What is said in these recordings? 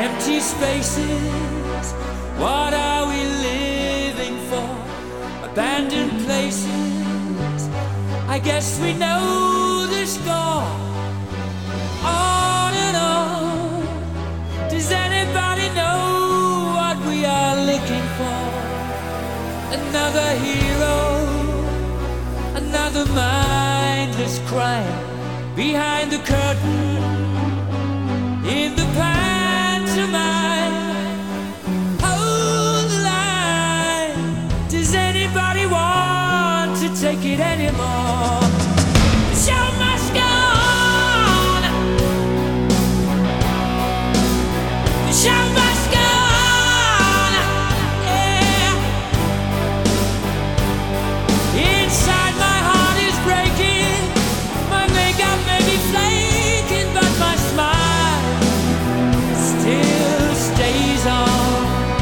Empty spaces, what are we living for? Abandoned places, I guess we know the score. On and on, does anybody know what we are looking for? Another hero, another mindless crime behind the curtain, in the pantomime. Hold the line, does anybody want to take it anymore? The show must go on. The show must go on. Yeah. Inside my heart is breaking. My makeup may be flaking, but my smile still stays on.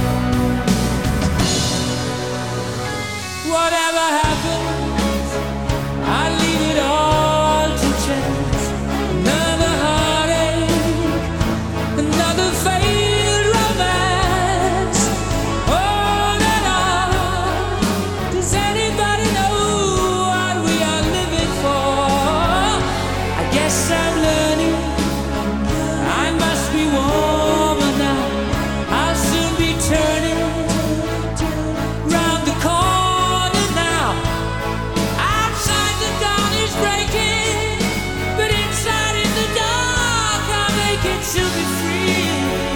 Whatever happens, I leave it all to chance. Another heartache, another failed romance. On and on, does anybody know what we are living for? I guess I'm learning, I must be warmer now. I'll soon be turning round the corner now. Outside the dawn is breaking, but inside in the dark I'll make it to be free.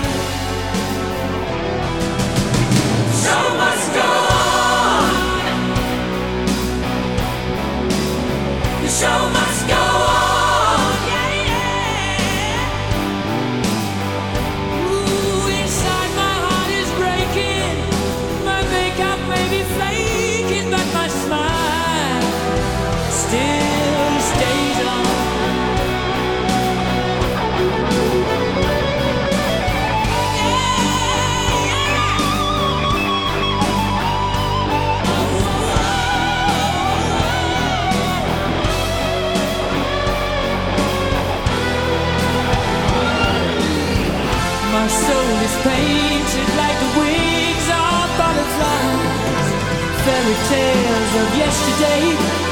The show must go on. The show must go on. Yeah, yeah. Ooh, inside my heart is breaking. My makeup may be flaking, but my smile still stays on. My soul is painted like the wings of butterflies, fairy tales of yesterday.